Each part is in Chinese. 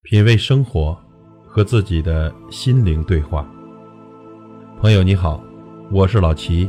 品味生活，和自己的心灵对话。朋友你好，我是老齐。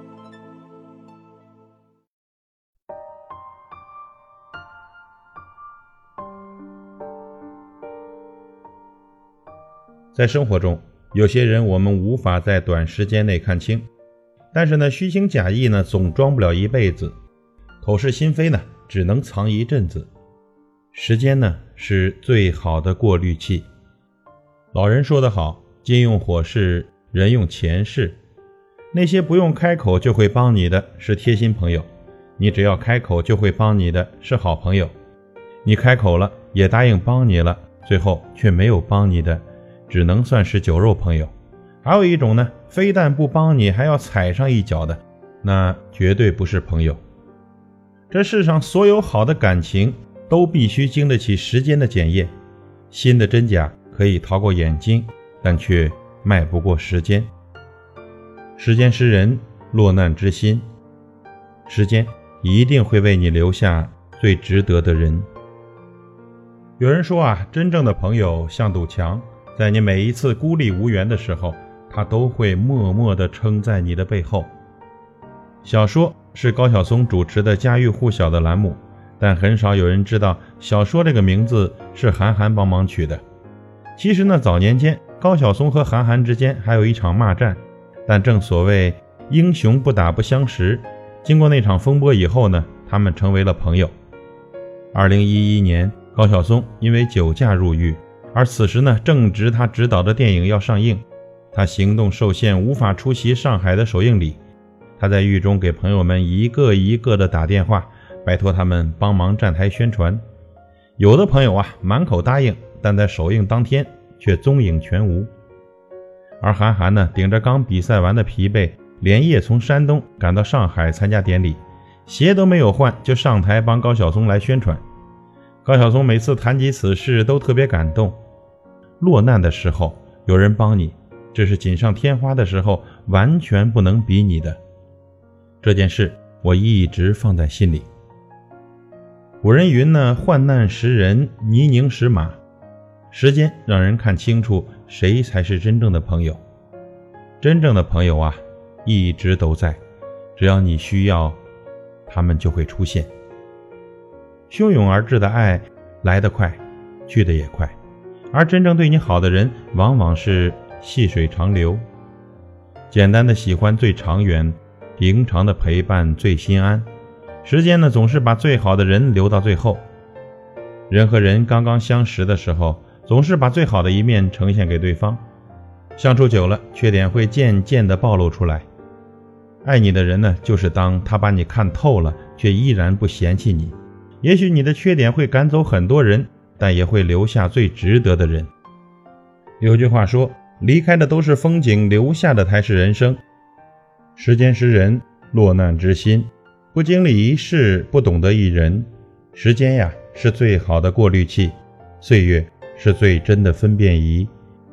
在生活中，有些人我们无法在短时间内看清，但是呢，虚情假意呢，总装不了一辈子，口是心非呢，只能藏一阵子。时间呢，是最好的过滤器。老人说得好，金用火势，人用钱势。那些不用开口就会帮你的是贴心朋友，你只要开口就会帮你的是好朋友。你开口了，也答应帮你了，最后却没有帮你的，只能算是酒肉朋友。还有一种呢，非但不帮你，还要踩上一脚的，那绝对不是朋友。这世上所有好的感情都必须经得起时间的检验，心的真假可以逃过眼睛，但却迈不过时间。时间识人，落难知心，时间一定会为你留下最值得的人。有人说啊，真正的朋友像堵墙，在你每一次孤立无援的时候，他都会默默地撑在你的背后。小说是高晓松主持的家喻户晓的栏目，但很少有人知道小说这个名字是韩寒帮忙取的。其实呢，早年间高晓松和韩寒之间还有一场骂战，但正所谓英雄不打不相识，经过那场风波以后呢，他们成为了朋友。2011年，高晓松因为酒驾入狱，而此时呢，正值他执导的电影要上映，他行动受限，无法出席上海的首映礼。他在狱中给朋友们一个一个的打电话，拜托他们帮忙站台宣传。有的朋友啊，满口答应，但在首映当天却踪影全无。而韩寒呢，顶着刚比赛完的疲惫，连夜从山东赶到上海参加典礼，鞋都没有换就上台帮高晓松来宣传。高晓松每次谈及此事都特别感动。落难的时候有人帮你，这是锦上添花的时候完全不能比拟的。这件事我一直放在心里。古人云呢，患难识人，泥泞识马。时间让人看清楚谁才是真正的朋友。真正的朋友啊，一直都在，只要你需要，他们就会出现。汹涌而至的爱来得快，去得也快，而真正对你好的人往往是细水长流。简单的喜欢最长远，平常的陪伴最心安。时间呢，总是把最好的人留到最后。人和人刚刚相识的时候，总是把最好的一面呈现给对方，相处久了，缺点会渐渐地暴露出来。爱你的人呢，就是当他把你看透了，却依然不嫌弃你。也许你的缺点会赶走很多人，但也会留下最值得的人。有句话说，离开的都是风景，留下的才是人生。时间识人，落难知心。不经历一事，不懂得一人。时间呀，是最好的过滤器，岁月是最真的分辨仪。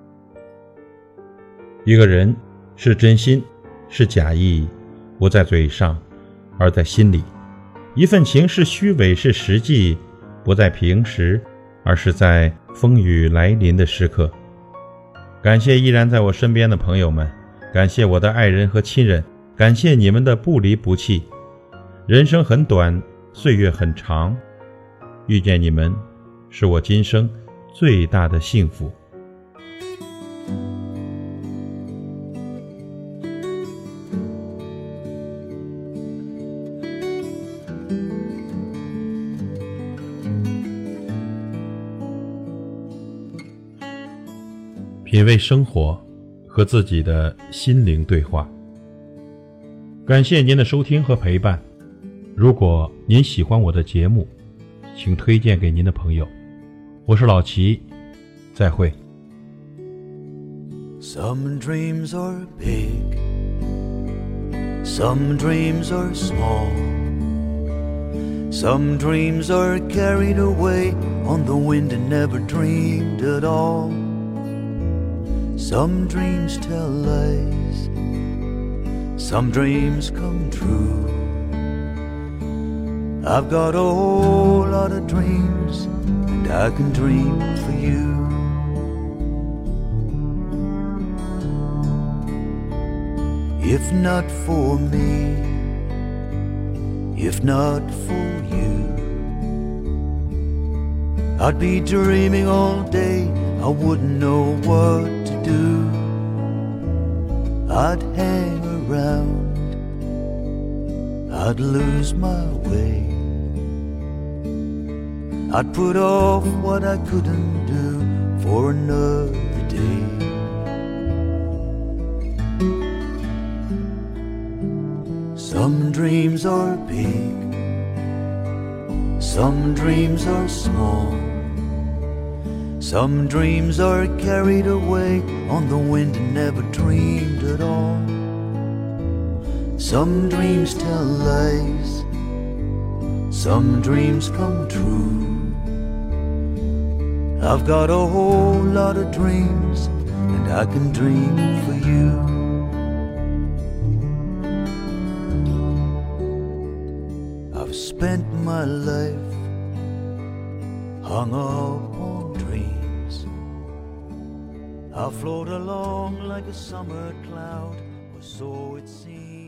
一个人是真心，是假意，不在嘴上，而在心里。一份情是虚伪，是实际，不在平时，而是在风雨来临的时刻。感谢依然在我身边的朋友们，感谢我的爱人和亲人，感谢你们的不离不弃。人生很短，岁月很长，遇见你们是我今生最大的幸福。品味生活，和自己的心灵对话。感谢您的收听和陪伴。如果您喜欢我的节目，请推荐给您的朋友。我是老齐，再会。 Some dreams are big, some dreams are small, some dreams are carried away on the wind and never dreamed at all. Some dreams tell lies, some dreams come true. I've got a whole lot of dreams, and I can dream for you. If not for me, if not for you, I'd be dreaming all day, I wouldn't know what to do. I'd hang around, I'd lose my way, I'd put off what I couldn't do for another day. Some dreams are big, some dreams are small, some dreams are carried away on the wind and never dreamed at all. Some dreams tell lies, some dreams come true. I've got a whole lot of dreams, and I can dream for you. I've spent my life hung up on dreams. I float along like a summer cloud, or so it seems.